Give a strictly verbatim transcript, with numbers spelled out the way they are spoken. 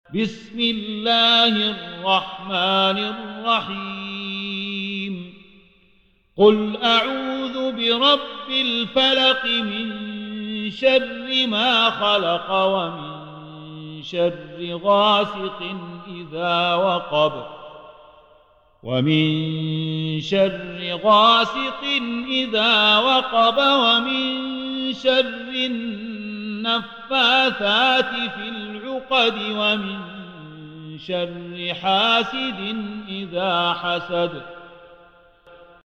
بسم الله الرحمن الرحيم قل أعوذ برب الفلق من شر ما خلق ومن شر غاسق إذا وقب ومن شر غاسق إذا وقب ومن شر النفاثات في العقد ومن شر حاسد إذا حسد